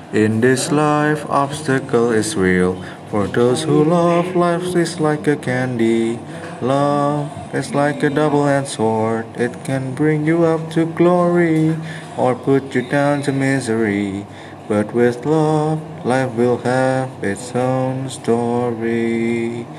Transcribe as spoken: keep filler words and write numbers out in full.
In this life, obstacle is real. For those who love, life is like a candy. Love is like a double-edged sword. It can bring you up to glory or put you down to misery. But with love, life will have its own story.